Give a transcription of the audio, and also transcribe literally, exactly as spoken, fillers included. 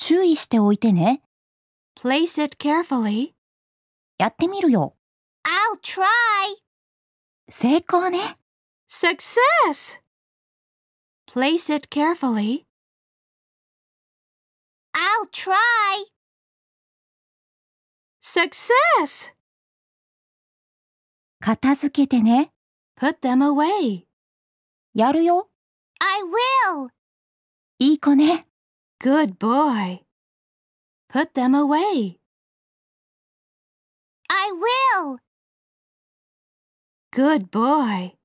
注意しておいてね。 Place it carefully. やってみるよ。 I'll try. 成功ね。 Success! Place it carefully. I'll try. Success! 片付けてね。 Put them away. やるよ。 I will. いい子ね。 Good boy. Put them away. I will. Good boy.